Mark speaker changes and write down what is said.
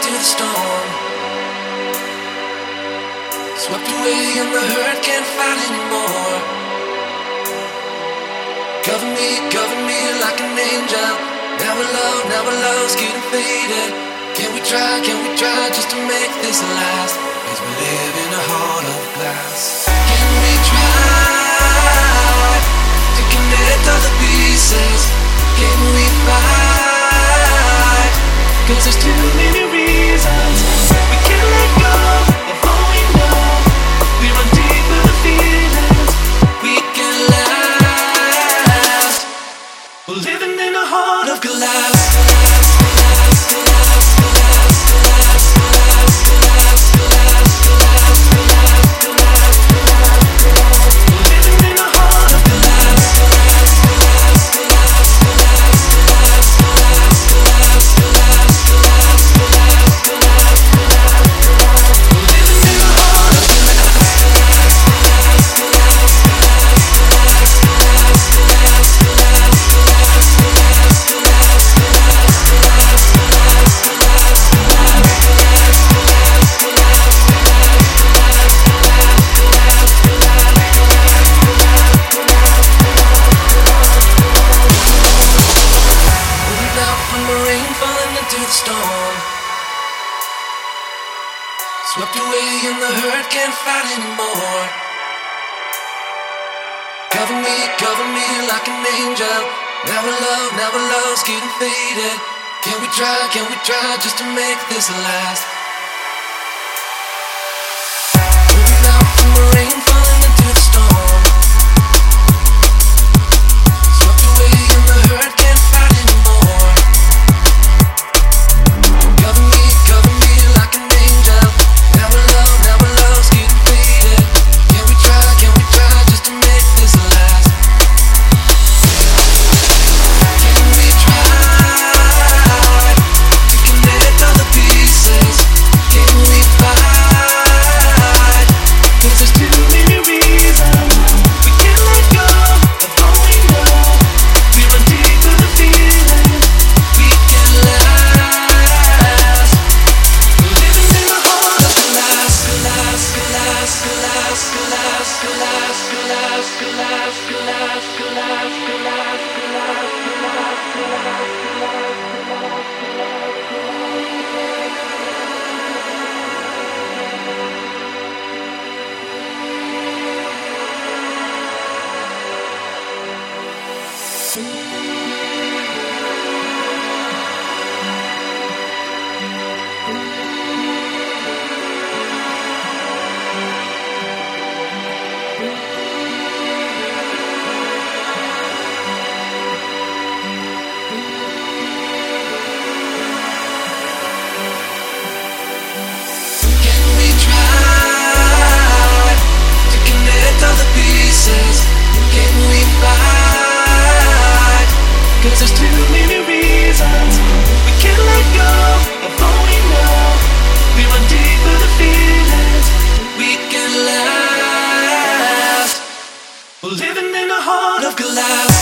Speaker 1: into the storm. Swept away and the hurt can't fight anymore. Cover me like an angel. Now our love's getting faded. Can we try just to make this last? 'Cause we live in a heart of glass. Can we try to connect all the pieces? Can we fight? 'Cause there's too many reasons we can't let go of all we know. We run deep with the feelings we can last. We're living in a heart of glass. Swept away and the hurt can't fight anymore. Cover me like an angel. Now our love's getting faded. Can we try just to make this last? Moving out from the rain, falling into the storm. Swept away and the hurt can't fight anymore. Cover me like an angel. Now our love's getting faded. Can we try just to make this last? Can we try to connect all the pieces? Can we fight? 'Cause there's too many reasons we can't let go of all we know. We run deep with the feeling we can last. We're living in a heart of glass, glass, glass, glass, glass, glass, glass, glass, glass, glass, glass, there's too many reasons we can't let go of all we know. We run deep with the feelings we can last. We're living in a heart of glass.